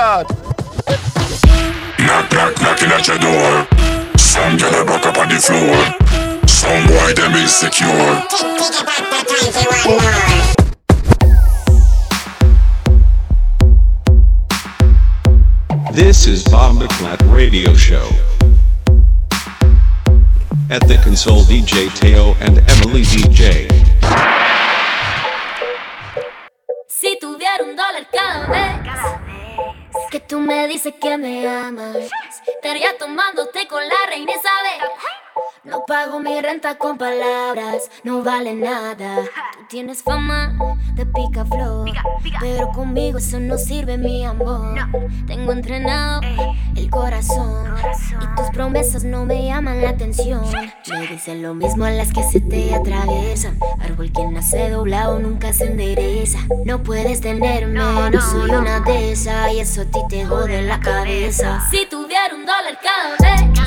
God. Knock, knock, knocking at your door. Some girl a back up on the floor. Some boy them insecure. This is Bob McClat Radio Show. At the console, DJ Teo and Emily DJ. Si tuviera $1 cada vez que tú me dices que me amas, estaría tomándote con la reina Isabel. No pago mi renta con palabras, no vale nada. Tú tienes fama de picaflor, pero conmigo eso no sirve, mi amor. Tengo entrenado el corazón y tus promesas no me llaman la atención. Me dicen lo mismo a las que se te atraviesan. Árbol que nace doblado nunca se endereza. No puedes tenerme, no soy una de esas, y eso a ti te jode la cabeza. Si tuviera $1 cada vez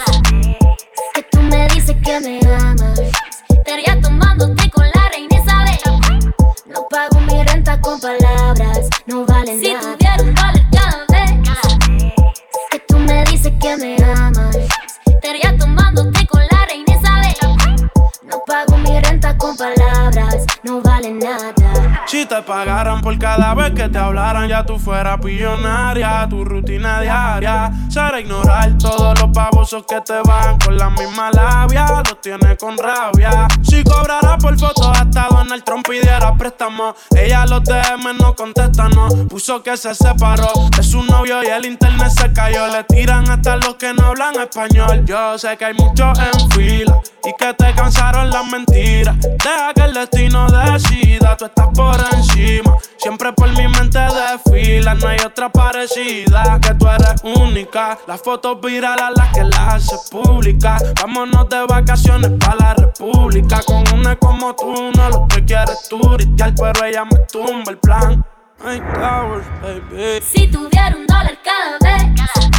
que tú me dices que me amas, estaría tomándote con la reina Isabel. No pago mi renta con palabras, no vale nada. Si tuviera $1 cada vez que tú me dices que me amas, estaría tomándote con la reina Isabel. No pago mi renta con palabras, no vale nada. Si te pagaran por cada vez que te hablaran, ya tú fueras billonaria. Tu rutina diaria será ignorar todos los babosos que te van con la misma labia. Los tienes con rabia. Si cobrara por fotos hasta Donald Trump pidiera préstamo, ella los DM no contesta, no. Puso que se separó de su novio y el internet se cayó. Le tiran hasta los que no hablan español. Yo sé que hay muchos en fila y que te cansaron las mentiras. Deja que el destino decida, tú estás por encima, siempre por mi mente desfila. No hay otra parecida, que tú eres única. Las fotos virales a las que las haces públicas. Vámonos de vacaciones pa' la república. Con una como tú, no lo que quieres turistear, pero ella me tumba el plan. Ay, Towers, baby. Si tuviera $1 cada vez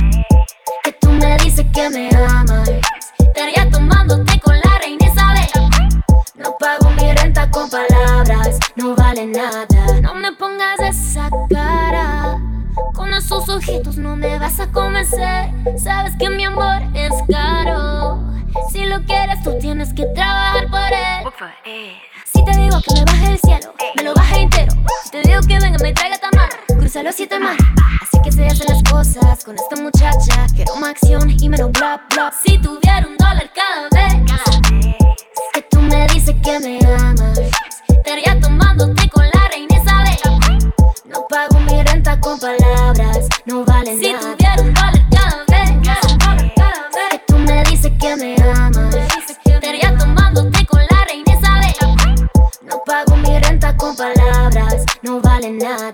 que tú me dices que me amas, estaría tomándote con la reina Isabel. No pago mi renta con palabras, no vale nada. No me pongas esa cara, con esos ojitos no me vas a convencer. Sabes que mi amor es caro. Si lo quieres tú tienes que trabajar por él. Si te digo que me baje del cielo, me lo baje entero. Si te digo que venga me traiga tamar, cruza los 7 mares. Así que se hacen las cosas con esta muchacha. Quiero más acción y menos bla bla. Si tuviera $1 cada vez que tú me dices que me amas, estaría tomándote con la reina Isabel. No pago mi renta con palabras, no vale nada. Si tuviera $1 cada vez que tú me dices que me amas, estaría tomándote con la reina Isabel. No pago mi renta con palabras, no vale nada.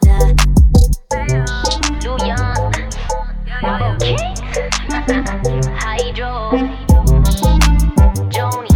Hydro, Joni,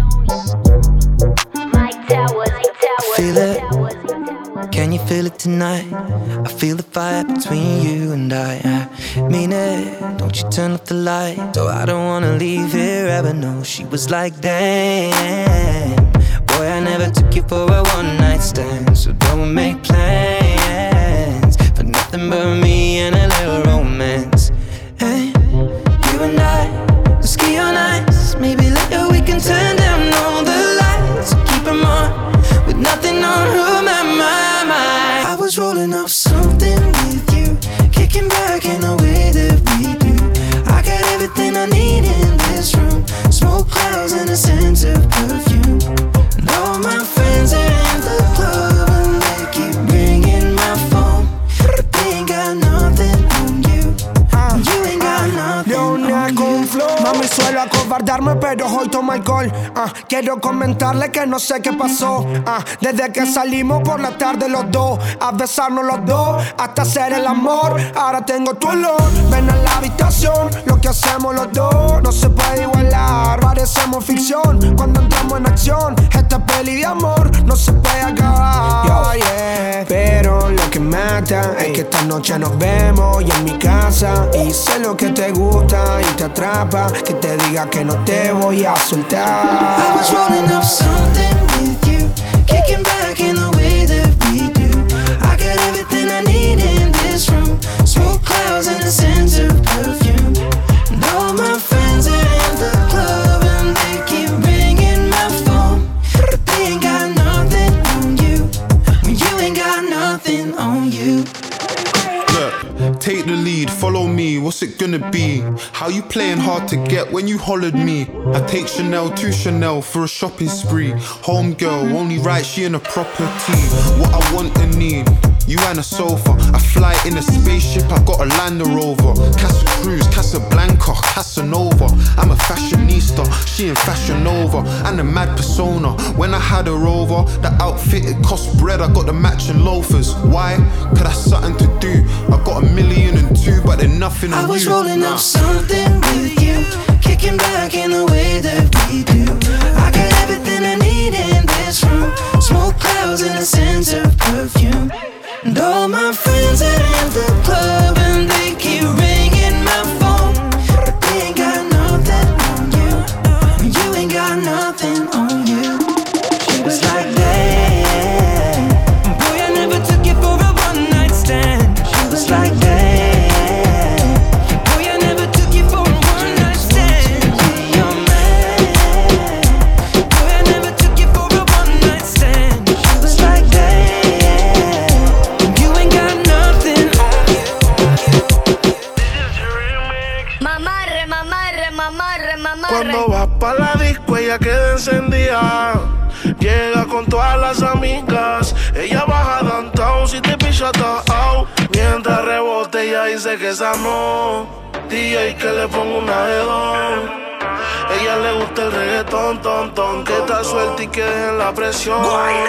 Mike Towers. Feel it, can you feel it tonight? I feel the fire between you and I mean it, don't you turn off the light. So I don't wanna leave here ever, no. She was like, damn, boy, I never took you for a one-night stand. So don't make plans for nothing but me and a little romance. Hey, you and I, let's ski on ice. Maybe later we can turn down all the lights, keep them on, with nothing on who my mind. I was rolling up something with you, kicking back in the way that we do. I got everything I need in this room, smoke clouds and a sense of perfume. And all my friends are in the club and they keep ringing my phone, but they ain't got nothing on you. You ain't got nothing on you. Mami, suelo acobardarme, pero hoy tomo alcohol. Quiero comentarle que no sé qué pasó. Desde que salimos por la tarde los dos, a besarnos los dos, hasta hacer el amor. Ahora tengo tu olor, ven a la habitación. Lo que hacemos los dos no se puede igualar. Parecemos ficción cuando entramos en acción. Esta peli de amor no se puede acabar. Yeah. Pero lo que mata es que esta noche nos vemos y en mi casa. Y sé lo que te gusta y te atrapa, que te diga que no te voy a soltar. I was rolling up something with you, kicking back in the way that we do. I got everything I need in this room, smoke clouds what's it gonna be? How you playing hard to get when you hollered me? I take Chanel to Chanel for a shopping spree. Homegirl, only right, she in a proper tee. What I want and need, you and a sofa. I fly in a spaceship, I got a Land Rover. Casa Cruz, Casablanca, Casanova. I'm a fashionista, she in Fashion Nova. And a mad persona, when I had her over, the outfit, it cost bread, I got the matching loafers. Why? Cause that's something to do. I got $1.2 million, but they're nothing on you. I was rolling up something with you, kicking back in the way that we do. I got everything I need in this room, smoke clouds and a sense of perfume. And all my friends are in the club and they keep ringing my phone, but they ain't got nothing on you. You ain't got nothing on you. She was like, damn, boy, I never took you for a one-night stand. She was like, damn, boy, I never took you for a one-night stand. You're mad, boy, I never took you for a one-night stand. She was like, damn. Cuando vas pa' la disco ella queda encendida, llega con todas las amigas. Ella baja downtown si te picha tao. Mientras rebote ella dice que esa no. DJ que le ponga una de dos. Ella le gusta el reggaetón, ton, ton. Que está suelta y que dejen la presión.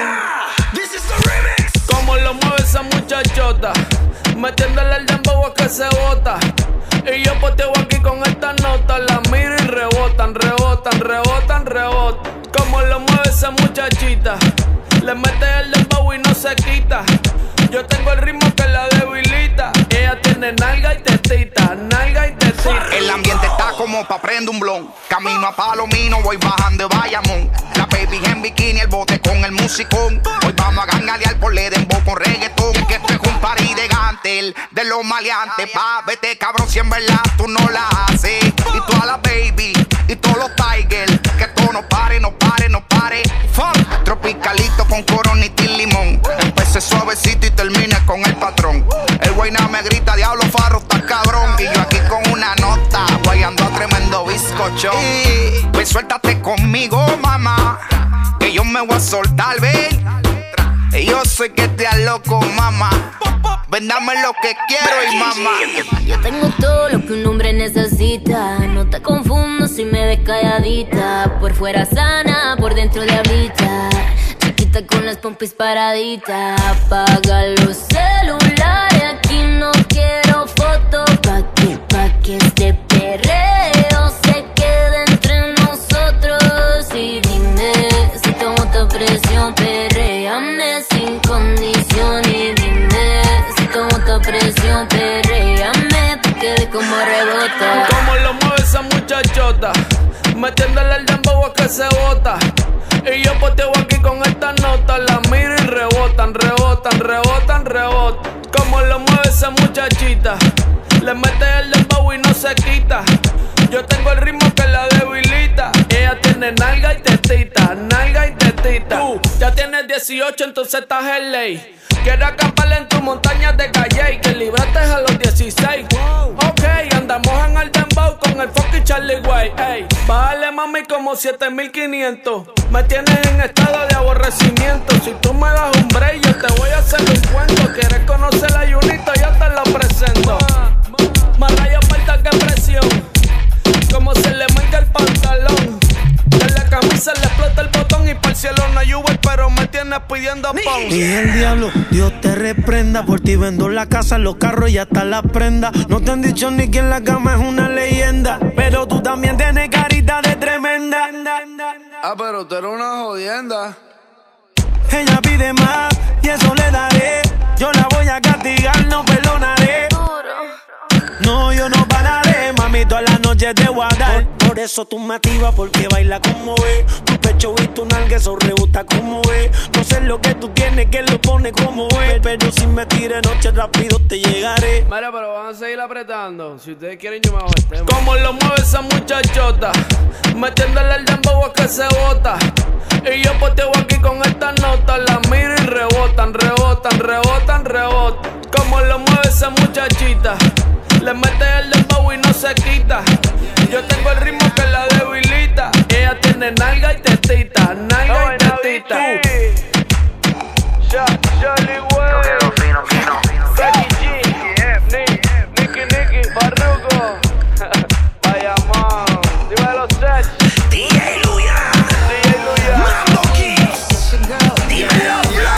This is the remix. Como lo mueve esa muchachota, metiéndole el dembow a que se bota. Y yo poteo aquí con esta nota, la miro y rebotan, rebotan, rebotan, rebotan. Como lo mueve esa muchachita, le mete el dembow y no se quita. Yo tengo el ritmo que la debilita. Ella tiene nalga y tetita, nalga y tetita. El ambiente está como pa' prender un blon. Camino a Palomino, voy bajando de Bayamón. La baby en bikini, el bote con el musicón. Hoy vamos a gangalear por le dembow con reggaetón. Que esto es un party de gantel, de los maleantes. Pa' vete cabrón, si en verdad tú no la haces. Y toda la baby, y todos los tigers. Que todo no pare, no pare, no pare. Fuck. Tropicalito con coronita y limón. Empecé suavecito y termine con el patrón. El guayna me grita, diablo farro, está cabrón. Y yo aquí con una nota, guayando a tremendo bizcocho. Y pues suéltate conmigo, mamá, que yo me voy a soltar, ven. Y yo sé que te loco, mamá. Ven, dame lo que quiero y mamá. Yo tengo todo lo que un hombre necesita. No te confundo si me ves calladita. Por fuera sana, por dentro diablita. Chiquita con las pompis paraditas. Apaga los celulares, aquí no quiero fotos. Pa' que este perreo se quede entre nosotros. Y dime si tomo esta presión, perréame sin condición. Y dime si tomo esta presión, perréame pa' que ve como rebota. Como lo mueve esa muchachota, metiéndole el dembow a que se bota. Y yo poteo aquí con esta nota, la miro y rebotan, rebotan, rebotan, rebotan. Como lo mueve esa muchachita, le mete el dembow y no se quita. Yo tengo el ritmo que la debilita. Ella tiene nalga y tetita, nalga y tetita. Tú ya tienes 18, entonces estás en ley. Quiero acampar en tu montaña de calle y que libraste a los 16. Ok, andamos en el dembow con el fucking Charlie Way. Ey, bájale mami como 7500. Me tienes en estado de aborrecimiento. Si tú me das un break, yo te voy a hacer un cuento. ¿Quieres conocer a Junito? Yo te lo presento. Más rayos falta que presión. Como se le marca el pantalón. De la camisa le explota el botón y para el cielo no hay Uber, pero me tienes pidiendo pon. Y el diablo, Dios te reprenda. Por ti vendo la casa, los carros y hasta la prenda. No te han dicho ni que en la cama es una leyenda, pero tú también tienes carita de tremenda. Ah, pero tú eres una jodienda. Ella pide más y eso le daré. Yo la voy a castigar, no perdonaré. No, yo no pararé, mami, todas las noches te voy a dar. Por eso tú me activas, porque baila como es. Tu pecho y tu nalga, eso rebota como es. No sé lo que tú tienes, que lo pone como es. Pero si me tires noche rápido te llegaré. Mira, pero van a seguir apretando. Si ustedes quieren yo me hago el tema. Como lo mueve esa muchachota, metiéndole el dembow a que se bota. Y yo poteo aquí con esta nota, la miro y rebotan, rebotan, rebotan, rebotan. Como lo mueve esa muchachita, Le mete el dembow y no se quita. Yo tengo el ritmo que la debilita. Ella tiene nalga y tetita, nalga y tetita. Charlie Way, Becky G, Nicky, Barrugo, Bayamón, dímelo Sech, DJ Luya, Mambo Kids, dímelo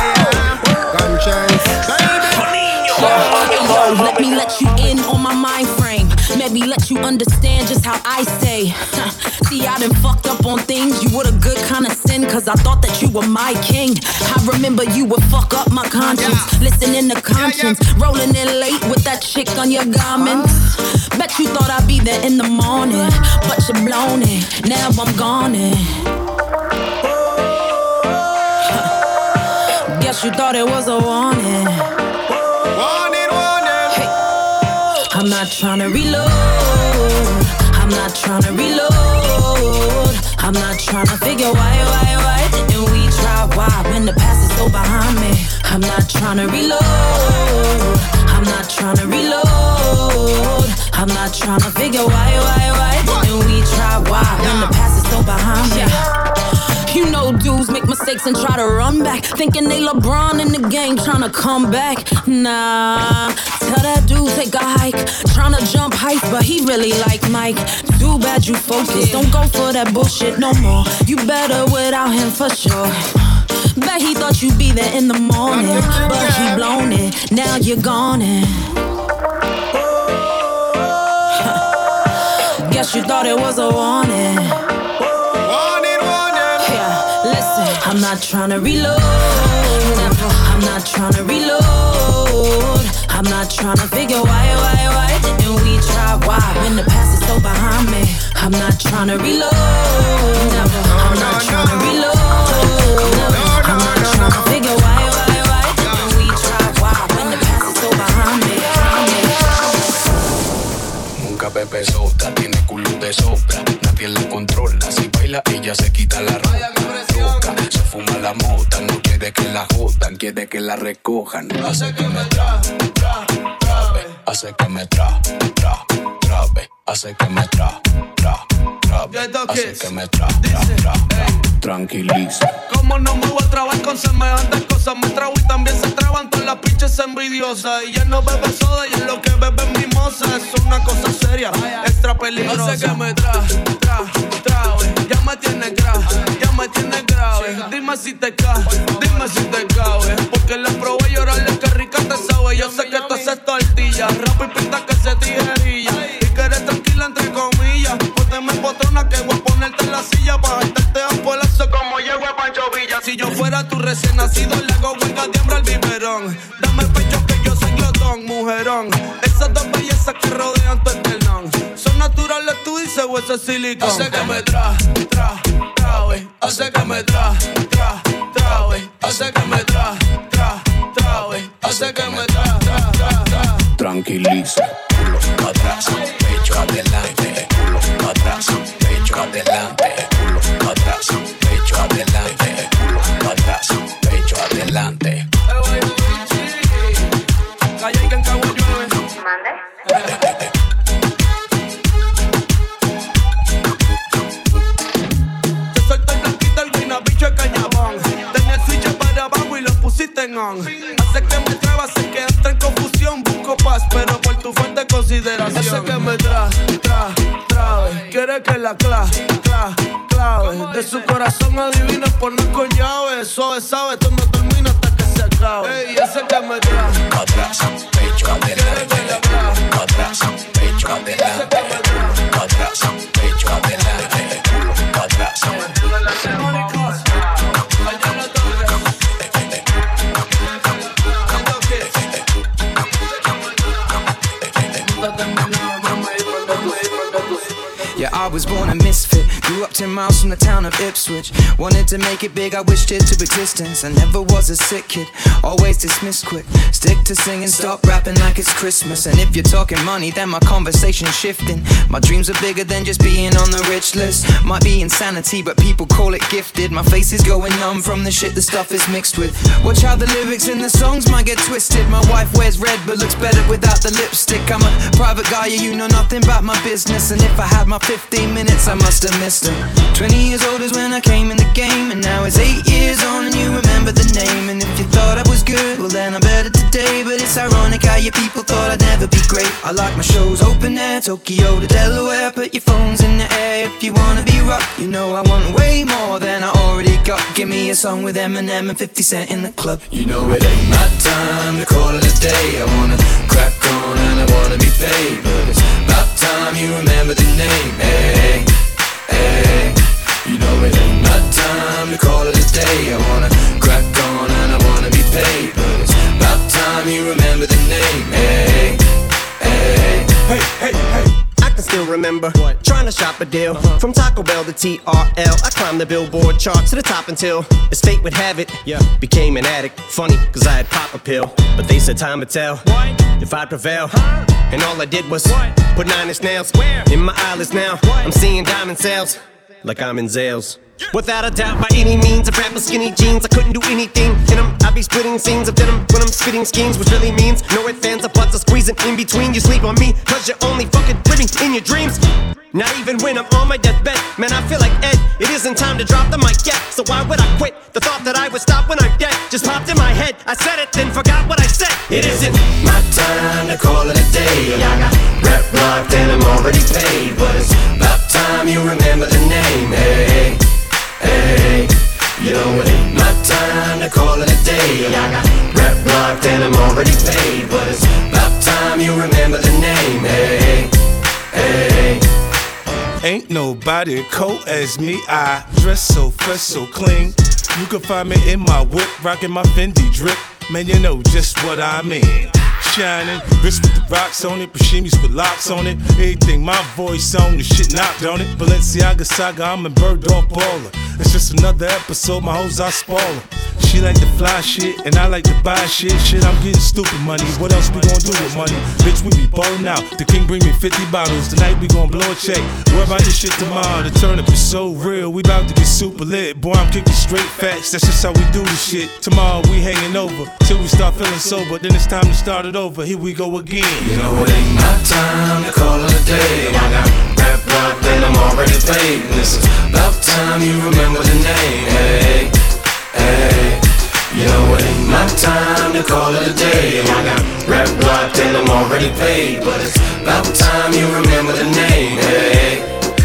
Let me let you in on my mind frame. Maybe let you understand just how I say. See, I done fucked up on things. You were a good kind of sin, cause I thought that you were my king. I remember you would fuck up my conscience. Listening to conscience. Rolling in late with that chick on your garments. Bet you thought I'd be there in the morning, but you blown it. Now I'm gone. Guess you thought it was a warning. I'm not tryna reload. I'm not tryna reload. I'm not tryna figure why didn't we try why when the past is so behind me. I'm not tryna reload. I'm not tryna reload. I'm not tryna figure why didn't we try why when the past is so behind me. You know dudes make mistakes and try to run back, thinking they LeBron in the game, tryna come back. Nah, tell that dude take a hike, tryna jump height, but he really like Mike. Too bad you focus, don't go for that bullshit no more. You better without him for sure. Bet he thought you'd be there in the morning, but he blown it, now you're gone. Guess you thought it was a warning. I'm not tryna reload. I'm not tryna reload. I'm not tryna figure why didn't we try why when the past is so behind me. I'm not tryna reload. I'm not tryna reload. I'm not tryna figure why didn't we try why when the past is so behind me. Nunca Pepe Sota, tiene culo de sopra. Nadie la controla, si baila ella se quita la ropa. Se fuma la mota, no quiere que la jodan, quiere que la recojan. Hace que me trabe, hace que me trabe, hace que me trabe, hace que me trabe, tranquiliza. Como no me voy a trabar con semejantes cosas, me trabo y también se traban todas las pinches envidiosas. Y ya no bebe soda y es lo que bebe es mimosa. Es una cosa seria, extra peligrosa. Hace que me trabe, ya me tiene grave, ya me tiene grave. Dime si te cabe, porque la probé y llorarle que rica te sabe. Yo sé que tú haces tortilla, rap y pinta que se tijerilla. Y que eres tranquila entre comillas. Pónteme botona que voy a ponerte en la silla pa' darte a polazo como llego a Pancho Villa. Si yo fuera tu recién nacido, le hago huelga de hambre al biberón. Dame pecho que yo soy glotón, mujerón. Esas dos bellezas que rodean tu esternón son naturales, tú dices, o ese silicón. Hace que me trabe, hace que me trabe, hace que me trabe, hace que me trabe. Tranquiliza, culo para atrás, pecho adelante, culo para atrás, pecho adelante, culo para atrás, pecho adelante, culo para atrás, pecho adelante. Calla y que en Cagua llueve. Te suelto el blanquito, el guina, bicho de cañabón. Tenía el switch para abajo y lo pusiste en on. Hace que me traba, hace que entre en confusión. Busco paz, pero por tu fuerte consideración. Hace que me trabe. Quiere que la clave. De su corazón adivina poner con llave. Suave, sabe, esto no termina hasta que se acabe. Ey, ese que me trabe. Pa' atrás, pecho adelante, pa' atrás, pecho adelante, pa' atrás, pecho adelante, pa' atrás. Yeah, I was born a misfit. Grew up 10 miles from the town of Ipswich. Wanted to make it big, I wished it to existence. I never was a sick kid, always dismissed quick. Stick to singing, stop rapping like it's Christmas. And if you're talking money, then my conversation's shifting. My dreams are bigger than just being on the rich list. Might be insanity, but people call it gifted. My face is going numb from the shit the stuff is mixed with. Watch how the lyrics in the songs might get twisted. My wife wears red but looks better without the lipstick. I'm a private guy, yeah, you know nothing about my business. And if I had my 15 minutes, I must have missed them. 20 years old is when I came in the game, and now it's 8 years on and you remember the name. And if you thought I was good, well then I'm better today. But it's ironic how you people thought I'd never be great. I like my shows open air, Tokyo to Delaware. Put your phones in the air if you wanna be rock. You know I want way more than I already got. Give me a song with Eminem and 50 Cent in the club. You know it ain't my time to call it a day. I wanna crack on and I wanna be paid, but it's about time you remember the name. Hey, hey, you know it ain't my time to call it a day. I wanna crack on and I wanna be paid, but it's about time you remember the name. Hey, hey, hey, hey, hey. I can still remember trying to shop a deal from Taco Bell to TRL. I climbed the Billboard chart to the top until, as fate would have it, became an addict. Funny, cause I had pop a pill, but they said time would tell if I'd prevail. And all I did was put 9-inch nails in my eyelids now. I'm seeing diamond sales like I'm in Zales. Without a doubt, by any means, I rap with skinny jeans. I couldn't do anything in them. I be splitting scenes of denim when I'm spitting schemes, which really means no ifs, fans, or buts are squeezing in between. You sleep on me, cause you're only fucking living in your dreams. Not even when I'm on my deathbed, man, I feel like Ed. It isn't time to drop the mic yet, so why would I quit? The thought that I would stop when I'm dead just popped in my head. I said it, then forgot what I said. It isn't my time to call it a day. I got rep locked and I'm already paid, but it's about time you remember the name. Hey, hey, you know it ain't my time to call it a day. I got rep locked and I'm already paid, but it's about time you remember the name. Hey, hey. Ain't nobody cold as me. I dress so fresh, so clean. You can find me in my whip, rocking my Fendi drip. Man, you know just what I mean. Shining, wrist with the rocks on it, Bashimis with locks on it. Everything my voice on, the shit knocked on it. Balenciaga saga, I'm a bird dog baller. It's just another episode, my hoes I spoiler. She like to fly shit, and I like to buy shit. Shit, I'm getting stupid money. What else we gon' do with money? Bitch, we be ballin' out. The king bring me 50 bottles. Tonight we gon' blow a check. Worry about this shit tomorrow. The turn up is so real. We bout to get super lit. Boy, I'm kicking straight facts. That's just how we do this shit. Tomorrow we hanging over till we start feeling sober. Then it's time to start it over. Here we go again. You know it ain't my time to call it a day. I got rap locked and I'm already paid. And this is about time you remember the name. Hey, hey, you know it ain't my time to call it a day. I got rap locked and I'm already paid, but it's about time you remember the name. Hey,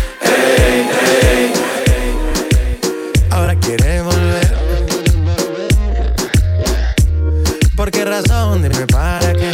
hey, hey. Ahora quiere volver. ¿Por qué razón? Dime para qué.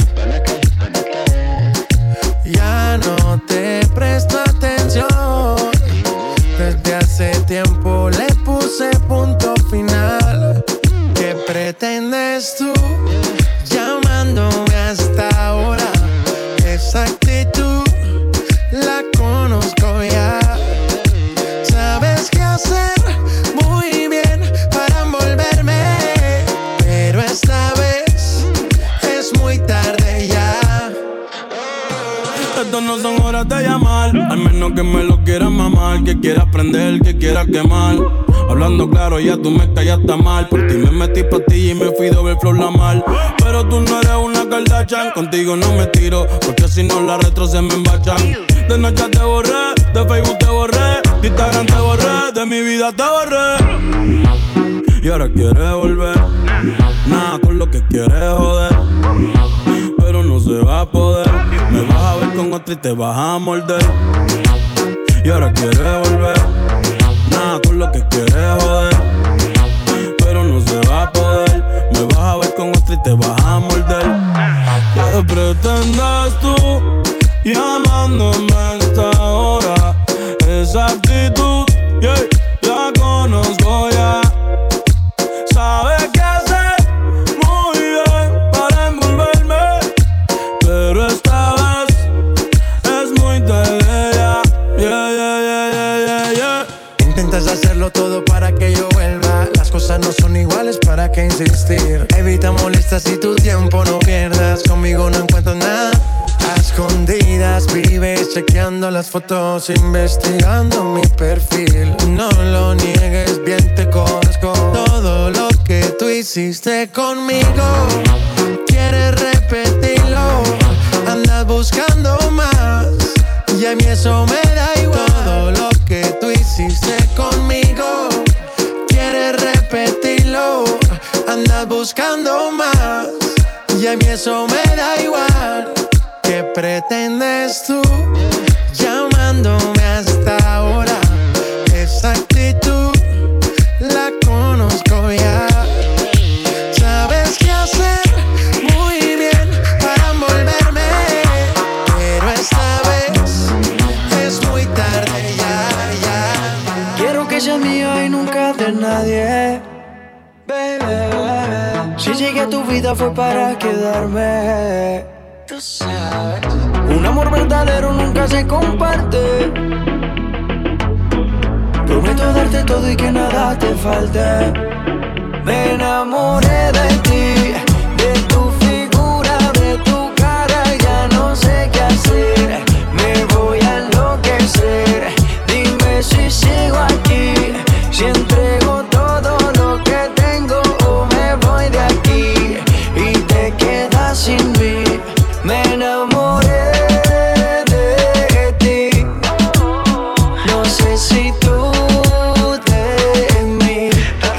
Ya no te presto atención. Desde hace tiempo le puse punto final. ¿Qué pretendes tú llamándome hasta ahora? Esa actitud la conozco ya. Sabes qué hacer muy bien para envolverme, pero esta vez es muy tarde ya. Esto no son horas de llamar, al menos que me lo quieras mamar, que quieras prender, que quieras quemar. Hablando claro, ya tú me callaste mal. Por ti me metí pastillas y me fui doble flor la mal. Pero tú no eres una Kardashian, contigo no me tiro, porque si no las retro se me embachan. De noche te borré, de Facebook te borré, de Instagram te borré, de mi vida te borré. Y ahora quieres volver, nada con lo que quieres joder, pero no se va a poder. Me vas a ver con otra y te vas a morder. Y ahora quieres volver, nada con lo que quieres joder, pero no se va a poder. Me vas a ver con otra y te vas a morder. ¿Qué pretendes tú llamándome a esta hora? Esa actitud, yeah, la conozco ya. Sabes qué hacer muy bien para envolverme, pero esta vez es muy tarde ya. Yeah, yeah, yeah, yeah, yeah, yeah. metas y tu tiempo no pierdas. Conmigo no encuentro nada. A escondidas vives chequeando las fotos, investigando mi perfil. No lo niegues, bien te conozco. Todo lo que tú hiciste conmigo, quieres repetirlo. Andas buscando más y a mí eso me da igual. Todo lo que tú hiciste conmigo, quieres repetirlo. Andas buscando más y a mí eso me da igual. ¿Qué pretendes tú llamándome hasta ahora? Esa actitud la conozco ya. Sabes qué hacer muy bien para envolverme, pero esta vez es muy tarde ya. Quiero que seas mía y nunca de nadie, baby. Si llegué a tu vida fue para quedarme. Tú sabes. Un amor verdadero nunca se comparte. Prometo darte todo y que nada te falte. Me enamoré de ti, de tu figura, de tu cara. Ya no sé qué hacer, me voy a enloquecer. Dime si sigo aquí, si entrego todo lo que tengo o me voy de aquí y te quedas sin mí. Me enamoré de ti, no sé si tú de mí.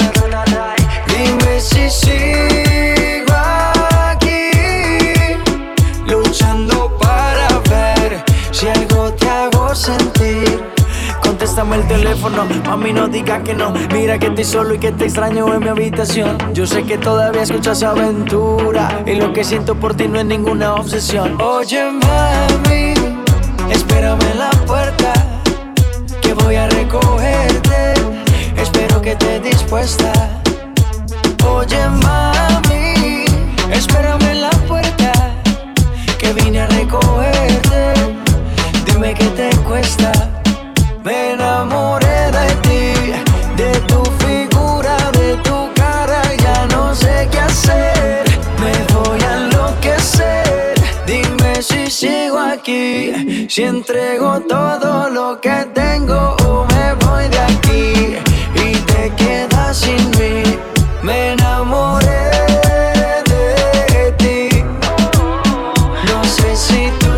Dime si sigo aquí, luchando para ver si algo te hago sentir. Contéstame el teléfono, mami, no digas que no. Mira que estoy solo y que te extraño en mi habitación. Yo sé que todavía escuchas Aventura y lo que siento por ti no es ninguna obsesión. Oye, mami, espérame en la puerta, que voy a recogerte. Espero que estés dispuesta. Oye, mami, espérame en la puerta, que vine a recogerte. Dime qué te cuesta. Me enamoré de ti, de tu figura, de tu cara. Ya no sé qué hacer, me voy a enloquecer. Dime si sigo aquí, si entrego todo lo que tengo o me voy de aquí y te quedas sin mí. Me enamoré de ti, no sé si tú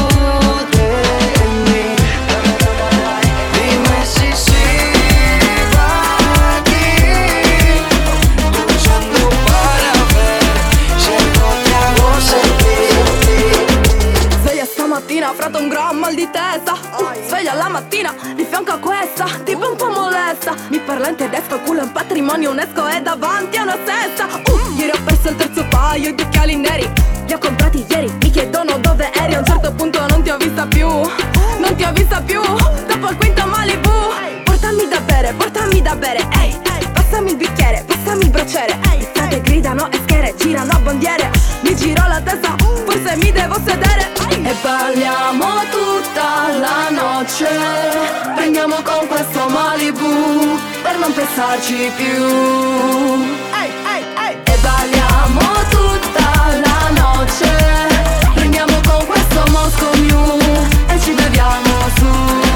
frate un gran mal di testa. Sveglia la mattina di fianco a questa, tipo un po' molesta. Mi parla in tedesco, culo è un patrimonio UNESCO e davanti a una sesta. Ieri ho perso il terzo paio di occhiali neri, li ho comprati ieri, mi chiedono dove eri. A un certo punto non ti ho vista più, non ti ho vista più. Dopo il quinto Malibu, portami da bere, ehi. Passami il bicchiere, passami il braciere. Le strade gridano e schiere, girano bandiere. Mi giro la testa, forse mi devo sedere. E balliamo tutta la noce, prendiamo con questo Malibu per non pensarci più. E balliamo tutta la noce, prendiamo con questo Moscow Mule e ci beviamo su.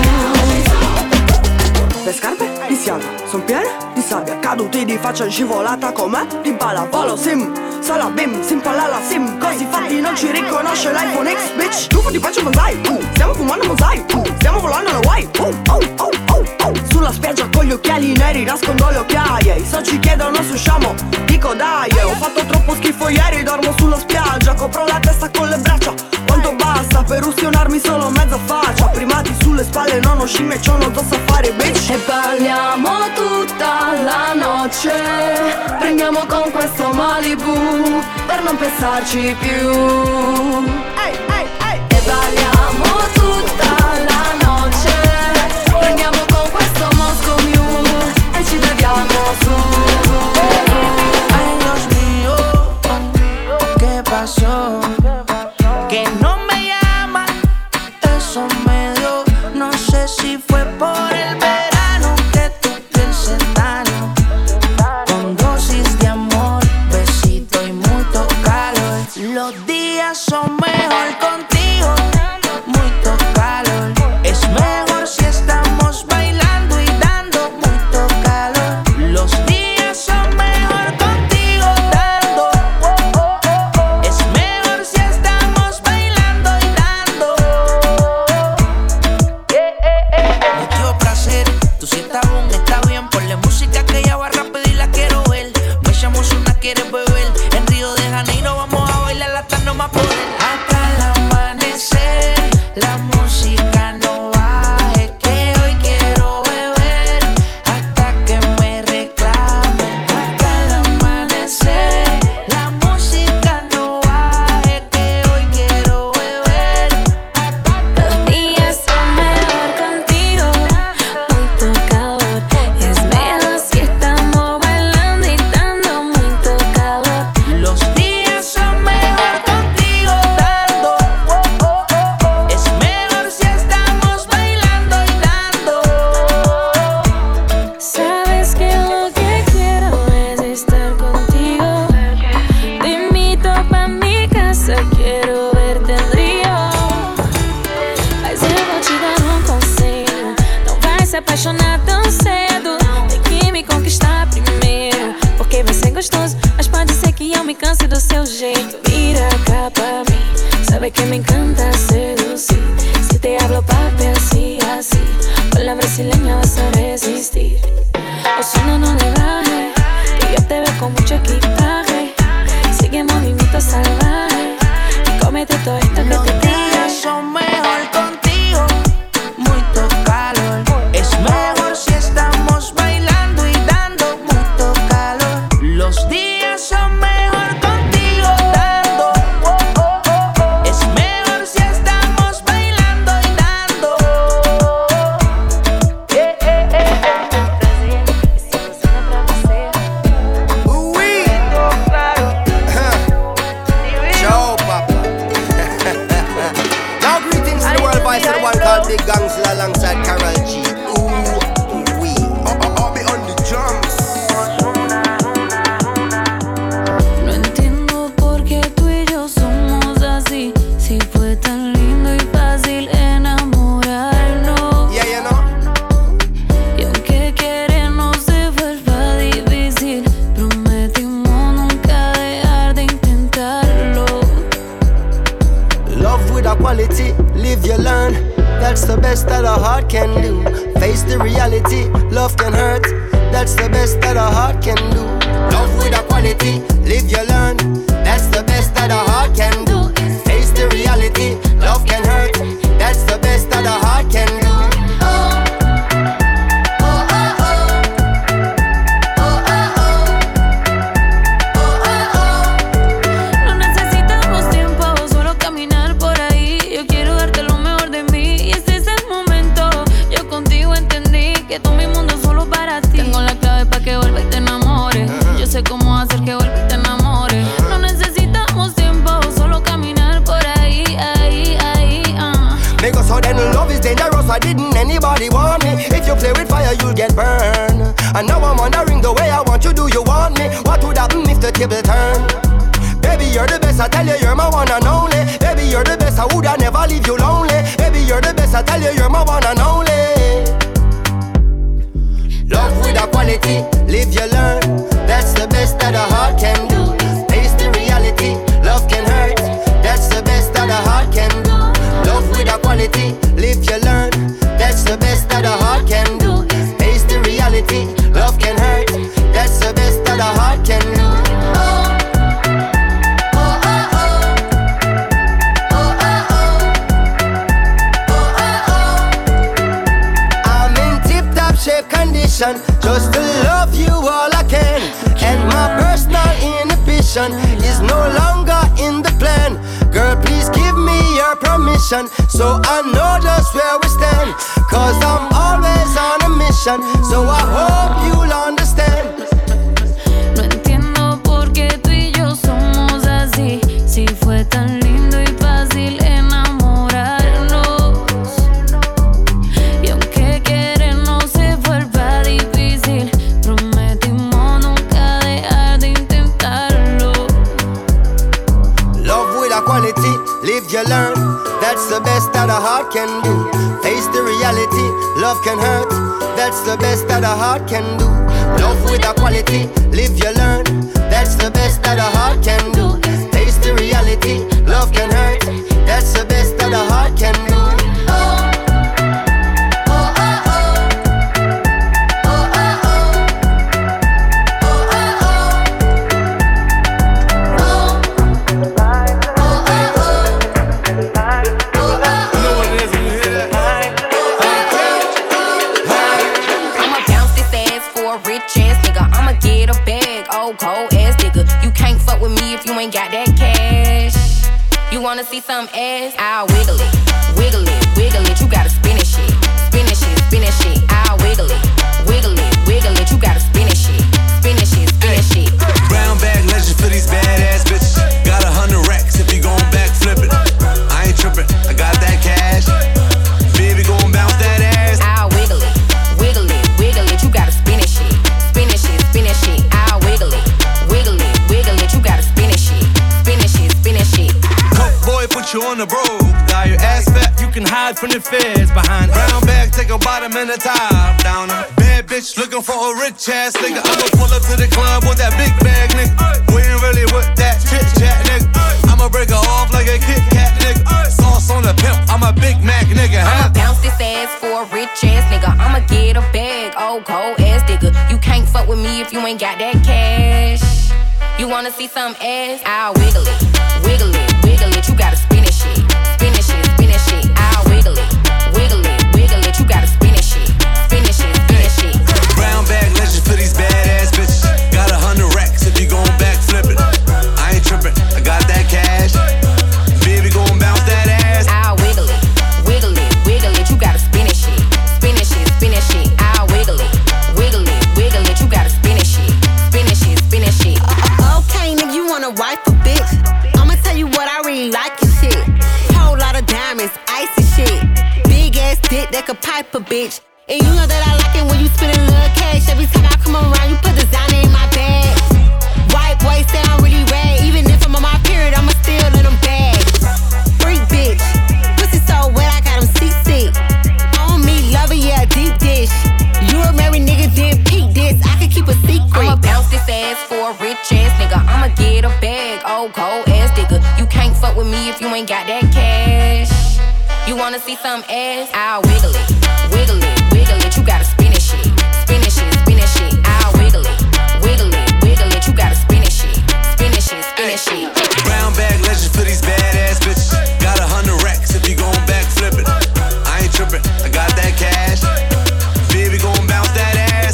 Le scarpe di Siana son piene di sabbia, caduti di faccia in scivolata come di pallavolo sim. Salabim, simpala la sim, così fatti non ci riconosce l'iPhone X, bitch. Tuffo di faccia bonsai, stiamo fumando mosai, stiamo volando alla Hawaii, sulla spiaggia con gli occhiali neri, nascondo le occhiaie. I soci chiedono se usciamo, dico dai. Ho fatto troppo schifo ieri, dormo sulla spiaggia, copro la testa con le braccia. Quanto basta per ustionarmi solo mezza faccia? Primati sulle spalle, non ho scimmie, c'ho uno addosso a fare, bitch. E balliamo tutta la noce, prendiamo con questo Malibu per non pensarci più. E balliamo tutta la noce, prendiamo con questo Moscow Mule e ci beviamo su. Ay, Dios mío, ¿qué pasó? Que no me llama, eso me dio. No sé si fue por el verano que tú piensas daño. Con dosis de amor, besito y muy tocado. apaixonar tão cedo. Tem que me conquistar primeiro, porque vai ser gostoso, mas pode ser que eu me canse do seu jeito. Mira cá pra mim, sabe que me encanta seducir. Si te hablo papi así, así, con la brasileña vas a resistir. O si no, no le baje, y yo te veo con mucho equipaje. Sigue movimiento salvaje y cómete todo esto que los te traje. Los días son mejor contigo, mucho calor. Es mejor si estamos bailando y dando mucho calor. Los días son mejor contigo dando. Es mejor si estamos bailando y dando. Uy. Ciao, papa. Now greetings to the world voice of the one called Big Gangsta alongside Karol G. Ooh, wee. I'll be on the drums. No entiendo por qué tú y yo somos así. Si fue tan lindo y fácil enamorarnos. Yeah, you know. Y aunque querernos se vuelva difícil, prometimos nunca dejar de intentarlo. Love with a quality, live you learn. That's the best that a heart can do. Face the reality, love can hurt. That's the best that a heart can do. Love with a quality, live you learn. That's the best that a heart can do. Face the reality, love can hurt. That's the best that a heart can do. No necesitamos tiempo, solo caminar por ahí. Yo quiero darte lo mejor de mí y este es el momento. Yo contigo entendí que todo mi mundo es solo para ti. Tengo la clave para que vuelva y te enamores. Yo sé cómo hacer que vuelva y te enamores. No necesitamos tiempo, solo caminar por ahí, ahí. Because so then love is dangerous, why didn't anybody want me? If you play with fire, you'll get burned. And now I'm wondering the way I want you, do you want me? What would happen if the table turn? Baby, you're the best, I tell you, you're my one and only. Baby, you're the best, I would never leave you lonely. Baby, you're the best, I tell you, you're my one and only. Love with a quality, live you learn. That's the best that a heart can do. Face the reality, love can hurt. That's the best that a heart can do. Love with a quality, live you learn. That's the best that a heart can do. Face the reality, love can hurt. That's the best that a heart can do. I'm in tip-top shape condition, just to love you all I can. And my personal inhibition is no longer in the plan. Girl, please give me your permission, so I know just where we stand. Cause I'm always on a mission, so I hope you'll understand. No entiendo por qué tú y yo somos así. Si fue tan lindo y fácil enamorarnos. Y aunque querernos se vuelva difícil, prometimos nunca dejar de intentarlo. Love with a quality, live you learn. That's the best that a heart can do. Face the reality, love can hurt. That's the best that a heart can do. Love with a quality, live you learn. That's the best that a heart can do. Face the reality, love can hurt. That's the best that a heart can do. You ain't got that cash. You wanna see some ass? I'll wiggle it, wiggle it, wiggle it. You gotta spin it shit, spin it shit, spin it shit. I'll wiggle it, wiggle it, wiggle it. You gotta spin it shit, spin it shit, spin it shit. Brown bag legend for these badass bitches. Got 100 racks if you gon' back flip it. I ain't trippin', I got that cash. Baby gon' bounce that ass. I'll wiggle it, wiggle it, wiggle it. You gotta spin it shit, spin it shit, spin it shit. I'll wiggle it, wiggle it, wiggle it. You gotta spin it shit, spin it shit, spin it shit. Coke boy, put you on the road. Got your ass fat, you can hide from the feds. Behind brown bag, take a a bottom and a top downer. Bad bitch looking for a rich ass nigga. I'ma pull up to the club with that big bag, nigga. We ain't really with that chit chat, nigga. I'ma break her off like a Kit Kat, nigga. Sauce on the pimp, I'm a Big Mac, nigga. I'ma bounce this ass for a rich ass nigga. I'ma get a bag, old cold ass nigga. You can't fuck with me if you ain't got that cash. You wanna see some ass? I'll wiggle it, wiggle it, wiggle it. You gotta spin it shit, spin it shit, spin it shit. I'll wiggle it, wiggle it, wiggle it. You gotta spin it shit, spin it shit, spin it shit. Brown bag legend for these badass bitches. Got 100 racks if you gon' back flip it. I ain't trippin', I got that cash. Baby gon' bounce that ass. I'll wiggle it, wiggle it, wiggle it. You gotta spin it shit, spin it shit, spin it shit. I'll wiggle it, wiggle it, wiggle it. You gotta spin it shit, spin it shit, spin it shit. Okay, nigga, you wanna wife a bitch? I'ma tell you what I really like and shit. Whole lot of diamonds, icy shit. Big ass dick that could pipe a bitch. And you know that I like it when you spend a little cash. Every time I come around, you put designer in my bag. White boy say I'm really rad. Even if I'm on my period, I'ma still in them bags. Freak bitch, pussy so wet, I got him seasick. On me, love it, yeah, deep dish. You a married nigga, then peak this. I can keep a secret. I'ma bounce this ass for a rich ass nigga. I'ma get a bag, old cold ass nigga. You can't fuck with me if you ain't got that cash. You wanna see some ass? I'll wiggle it, wiggle it, wiggle it. You gotta spin it shit, spin it shit, spin it shit. I'll wiggle it, wiggle it, wiggle it. You gotta spin it shit, spin it shit, spin it shit. Brown bag legend for these badass bitches. Got 100 racks if you gon' back flip it. I ain't trippin', I got that cash. Baby gon' bounce that ass.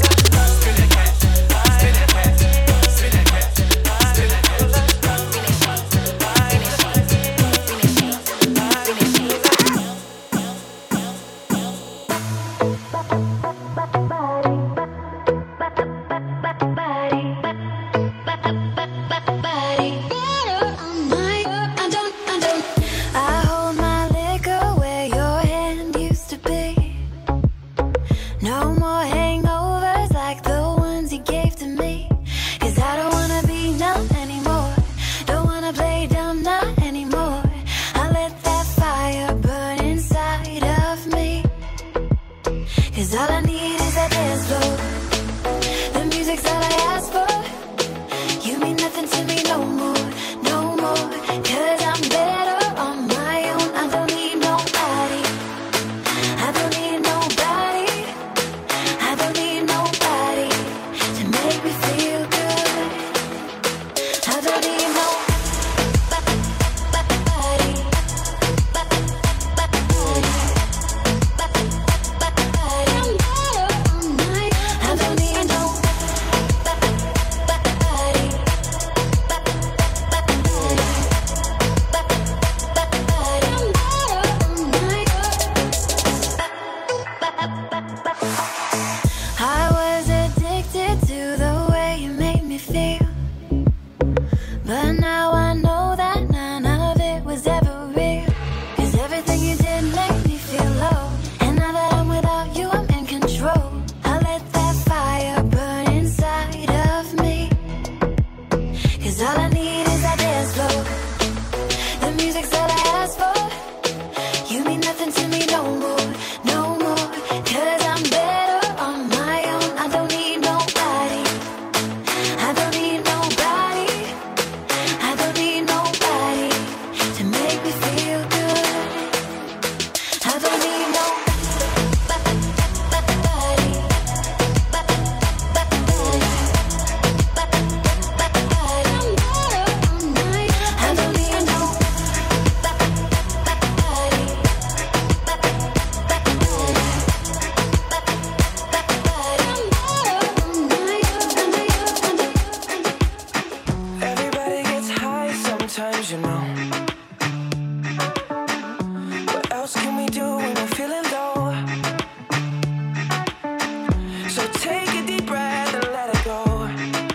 I hold my liquor where your hand used to be. No more hangovers like the ones you gave to me. 'Cause I don't wanna be numb anymore. Don't wanna play dumb not anymore. I let that fire burn inside of me. 'Cause all I need is that dance floor. The music's all I ask for. You mean nothing to me no more, no more. 'Cause I'm better on my own. I don't need nobody. I don't need nobody. I don't need nobody to make me feel good. I don't need nobody. I don't need nobody. I was addicted to the way you made me feel. But now I know that none of it was ever real. 'Cause everything you did made me feel low. And now that I'm without you, I'm in control. I let that fire burn inside of me. 'Cause all I need is that dance floor. The music's all I ask for. You mean nothing to me no more, no more. 'Cause I'm better on my own. I don't need nobody. I don't need nobody. I don't need nobody to make me feel good. I don't need nobody. I don't need Everybody gets high sometimes, you know. What else can we do when we're feeling low? So take a deep breath and let it go.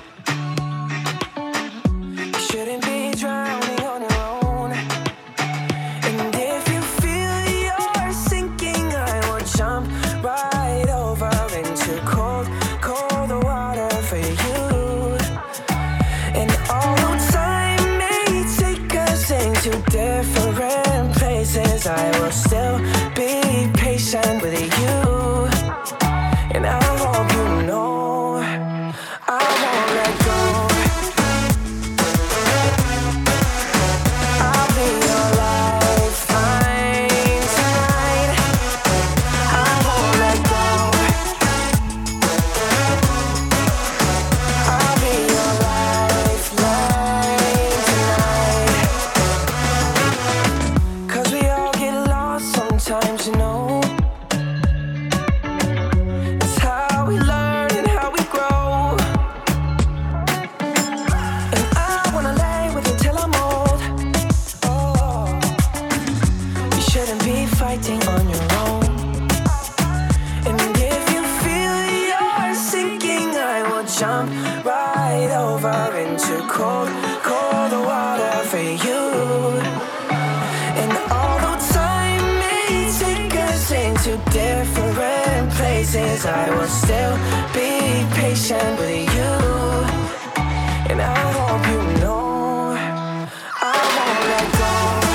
You shouldn't be drowning on your own. And if you feel you're sinking, I will jump right over into cold, cold water for you. And although time may take us into different places, I will still be patient with you. jump right over into cold, cold water for you. And although time may take us into different places, I will still be patient with you. And I hope you know I won't let go.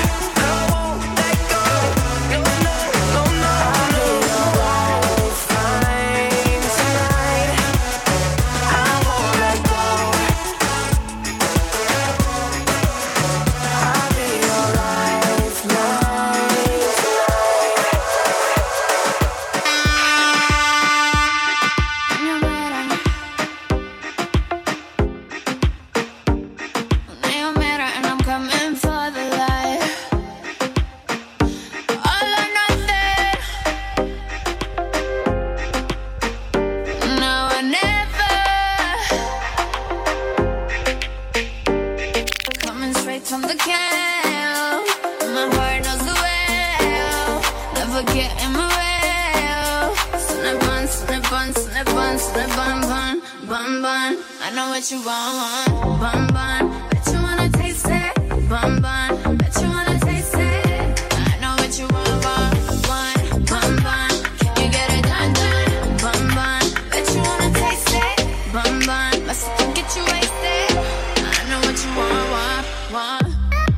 What you want, bun bun, bet you wanna taste it, bun bun, bet you wanna taste it. I know what you want, bun bun, can you get it done, bun bun, bet you wanna taste it, bun bun, my sister get you wasted. I know what you want.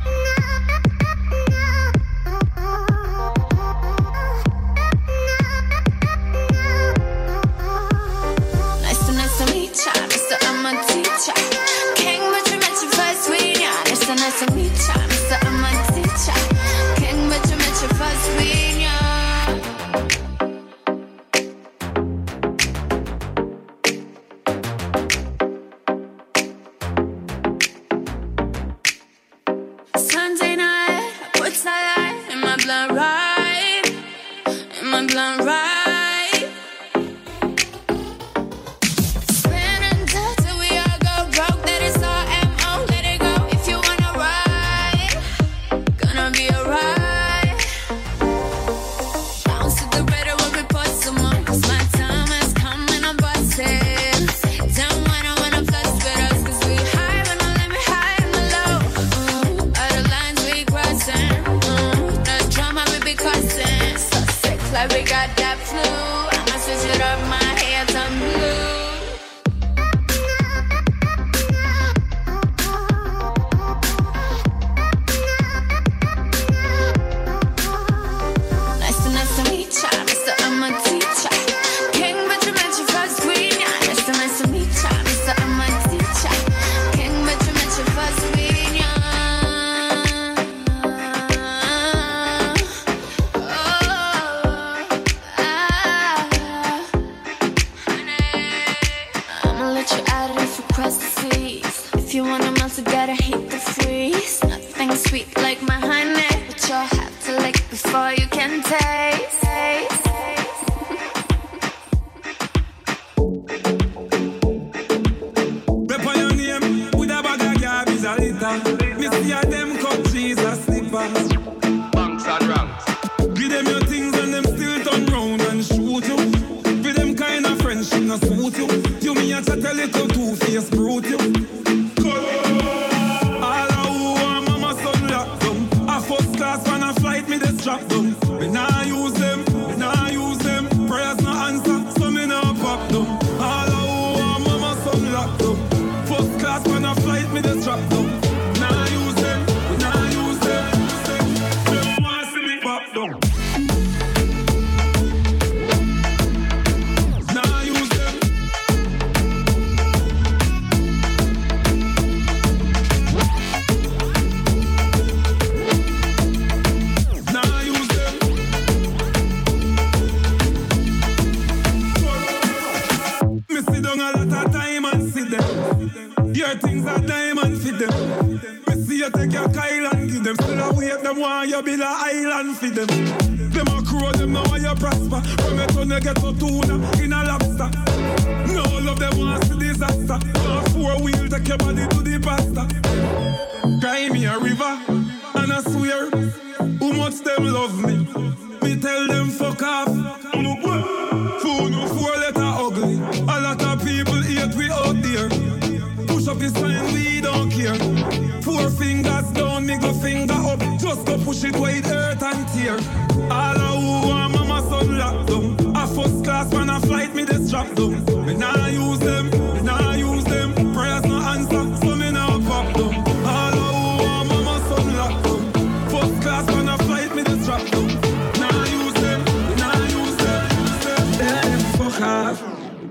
Nice to meet ya, Mr. I'm a teacher. King, but you met your first queen, yeah. Nice to meet ya, Mr. I'm a teacher. King, but you met your first queen, yeah. Sunday night, I put light in my blood right, in my blood right. Like we got that flu, I'ma switch it up, my hair turn blue. Nice to meet ya, Mr. I'm a teacher. King, but you met your first queen, yeah. Nice to meet ya, Mr. I'm a teacher. King, but you met your first queen, yeah. If you want them all together, heat the freeze. Nothing sweet like my honey, but you'll have to lick before you can taste. Rep on your name with a bag of garbage a liter. Me see a them cut cheese a slippers. Banks and ranks. Give them your things and them still turn round and shoot you. With them kind of friendship no suit you. You me a chat a little two-face brute you. Me just drop them. Me nah use them, prayers no answer, so me nah pop them. All I want, mama son lock them. First class when I flight, me just drop them. Nah use them, Them want see me pop them. Nah use them. Your things are diamond for them. Me see you take your Kyle and give them. Still a wait them want you build a island for them. Them a crow them know how you prosper. From your turn you get to tuna in a lobster. No love them want see disaster. No 4-wheel take your body to the pasta. Cry me a river and I swear who much them love me. Me tell them fuck off. Fool no 4-letter ugly. A lot of people hate we out just go push it where it hurt and tear. All of who want mama son locked down. A first class man a flight me this strap down. Me nah use them, me nah use them. Prayers no answer, so me now pop down. All of who want mama son locked down. First class man a flight me this strap down. Nah use them, me nah use them. Let them fuck off.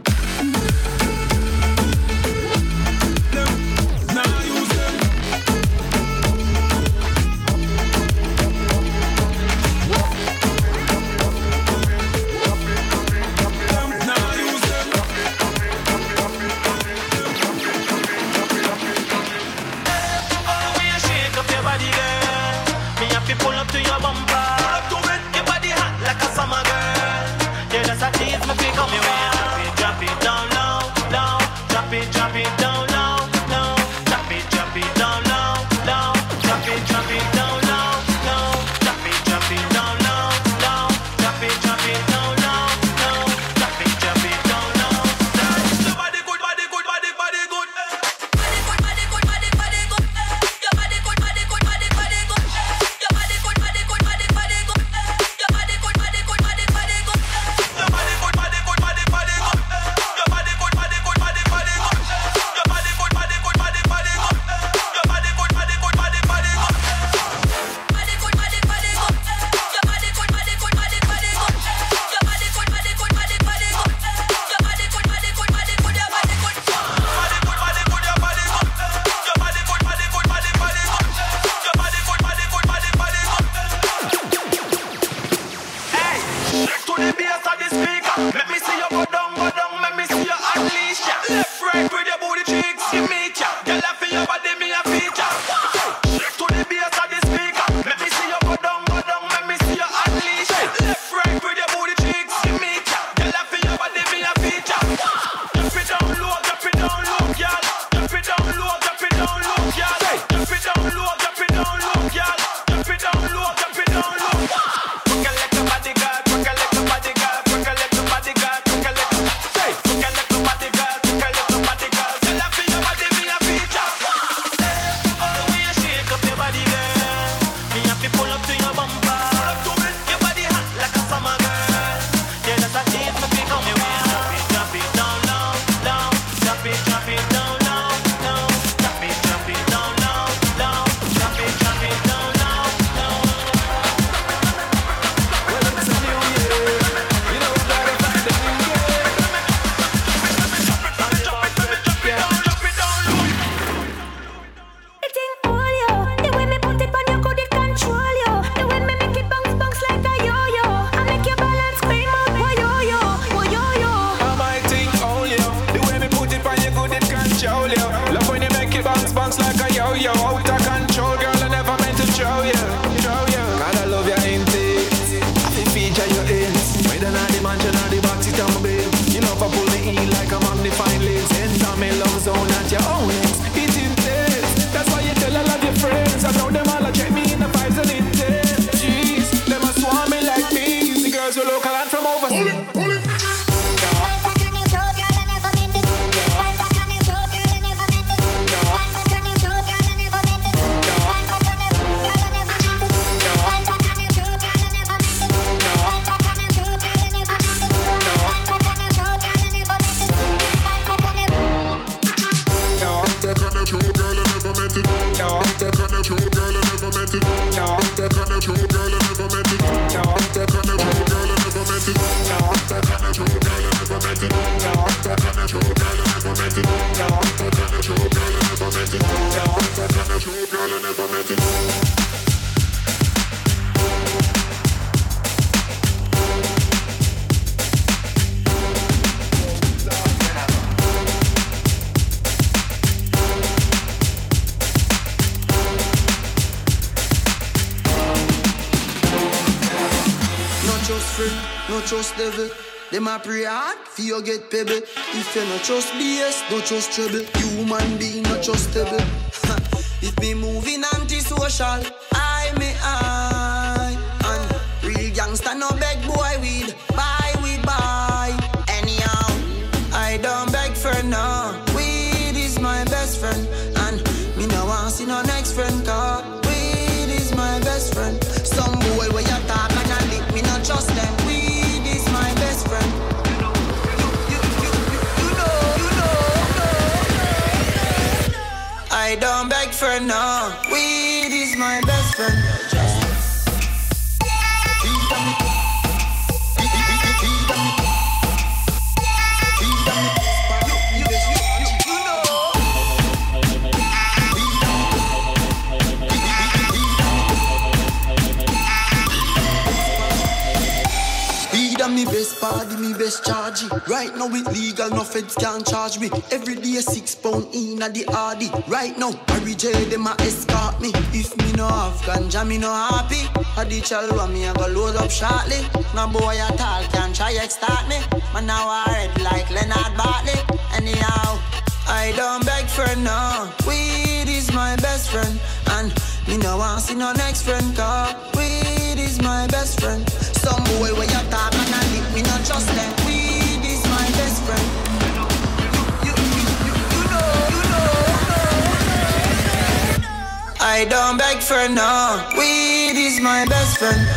Trust devil, them a pray hard for you get pebble. If you not trust BS, don't trust trouble. Human being not trustable. If me moving anti-social, I and real gangster no beg boy weed. Buy weed buy. Anyhow, I don't beg for no. Weed is my best friend, and me no want see no next friend. 'Cause weed is my best friend. friend now. Weed is my best friend. Me best party, me best charge. Right now it legal, no feds can't charge me. Every day £6 in at the RD. Right now, Harry J, them a escort me. If me no have ganja, me no happy. I the chalwa me, I go load up shortly. No boy at all can try extort me. Man now I head like Leonard Bartley. Anyhow, I don't beg for no. Weed is my best friend. And me no want see no next friend. Cause weed is my best friend. Some boy where you talk and I think me not trust them. Weed is my best friend. You know. I don't beg for no. Weed is my best friend.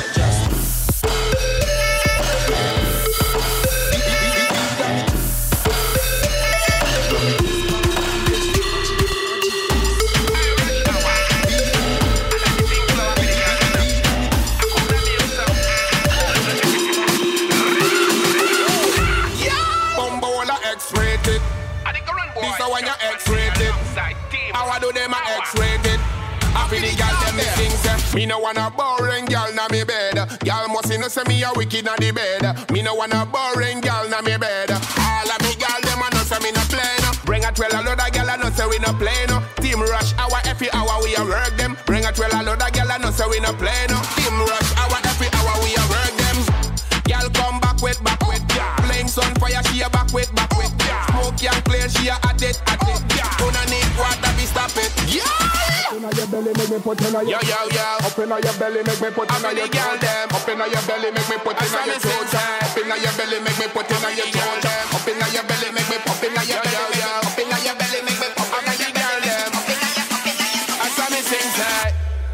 When you're X-rated, how I do them X-rated? I feel the girl them me sing say me no want a boring girl na me bed. Girl must know say me a wicked na the bed. Me no want a boring girl na me bed. All of me girl them a know say me no play no. Bring a 12 a load of girl a know say we no play no. Team rush hour every hour we a work them. Bring a 12 a load of girl a know say we no play no. Team rush hour every hour we a work them. Girl come back with yeah. Playing sun fire she a back with yeah. Smoke young clear she a addict. Gonna need water be stop it. Yeah. Up inna your belly make me put inna your Up inna your belly make me put inna your throat. Up inna your belly make me put inna your throat. Up inna your belly make me put inna your throat. Up inna your belly make me pop inna your belly. Up inna your belly make me pop inna your belly. I saw me sing say.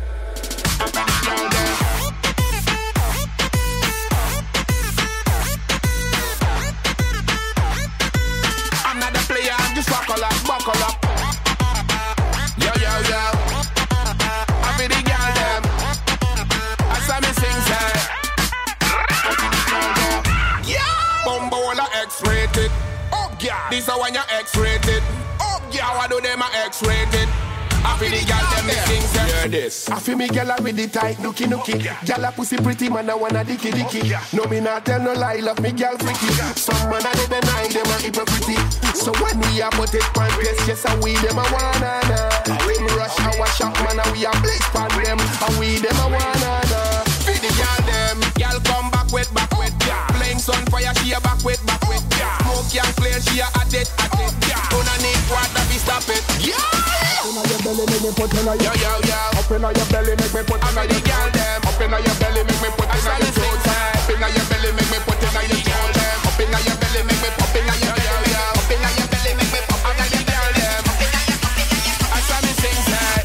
I'm not a player, I'm just buckle up. Yo. I be the girl them. I saw me sing say. Yeah. Bumbola X-rated. Oh yeah. This a one you X-rated. Oh yeah. How I do them a X-rated. I feel the girl them me sing say. Hear this. I feel me girl with the tight nookie. Girl a pussy pretty man I wanna dicky. No me not tell no lie, love me girl freaky. Some man a live the night them a hypocrite. So when we a put it pan place, yes and we them a wanna na. We rush our shop man and we a blitz pan them. And we them a wanna na. Feel the girl them. Girl come back with yeah. Playing sun fire she a back with yeah. Smoke young clear she a addict. Gonna need water be stop it. Yeah. Up inna your belly make me put inna your Up inna your belly make me put inna your throat. Up inna your belly make me put inna your throat. Up inna your belly make me put inna your throat. Up inna your belly make me pop inna your Up inna your belly make me pop inna your I saw me sing say.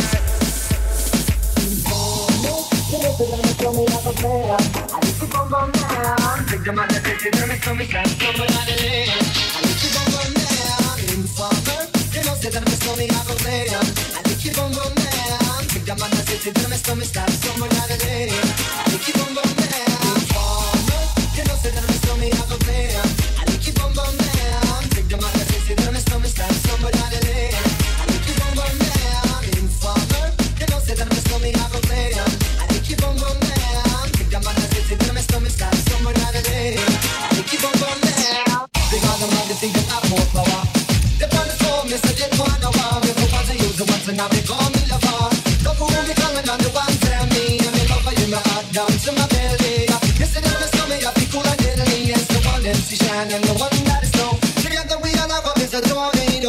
Now they call me lover. Love who be coming on the one tell me. And me love you my heart down to my belly. Yesterday when they saw me, I be cool and deadly. Yes, the one them see shine and the one that is slow. Together we are love is a tornado.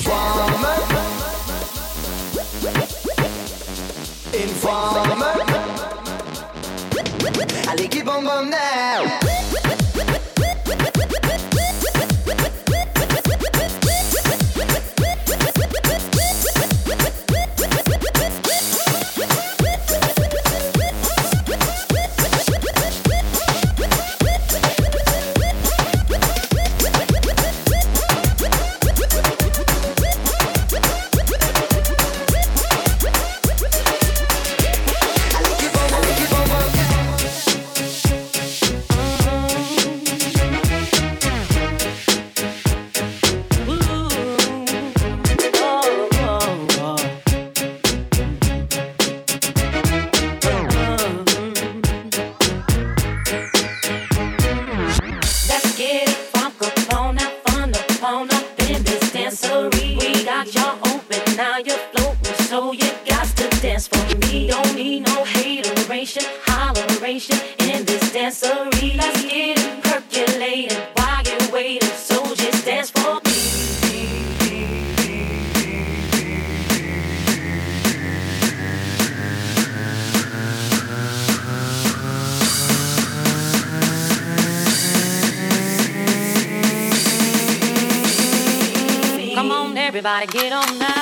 Informer. I like it bum bum now. accessories. Let's get it percolated while you're waiting. So just dance for me. Come on, everybody, get on now.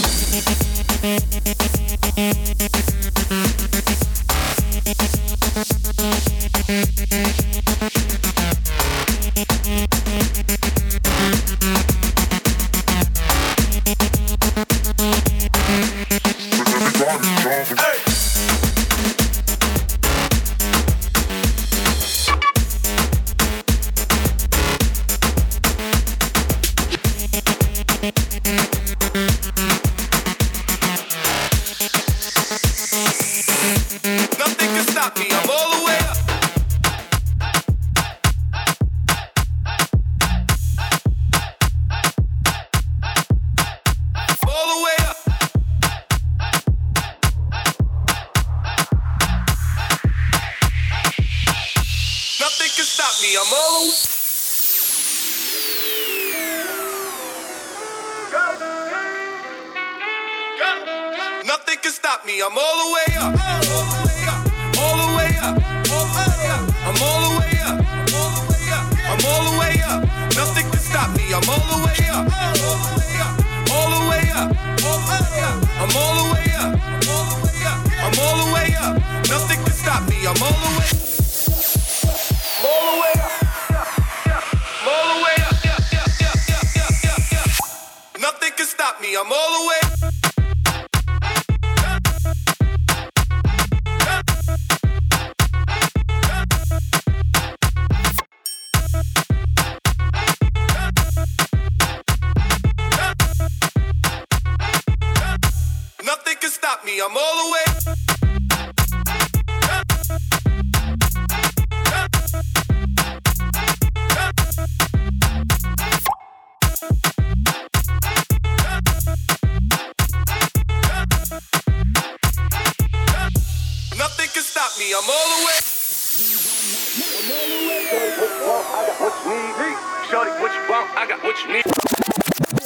Nothing can stop me, I'm all the way up. All the way up. Nothing can stop me, I'm all the way up. Nothing can stop me, I'm all the way up. All the way up. I'm all the way up. I'm all the way up. Nothing can stop me, I'm all the way up. All the way up. I'm all the way up. I'm all the way up. Nothing can stop me, I'm all the way up. All the way up. All the way up. Nothing can stop me, I'm all the way up. Nothing can stop me, I'm all the way. Nothing can stop me, I'm all the way. I got what you need. Shorty, what you want? I got what you need.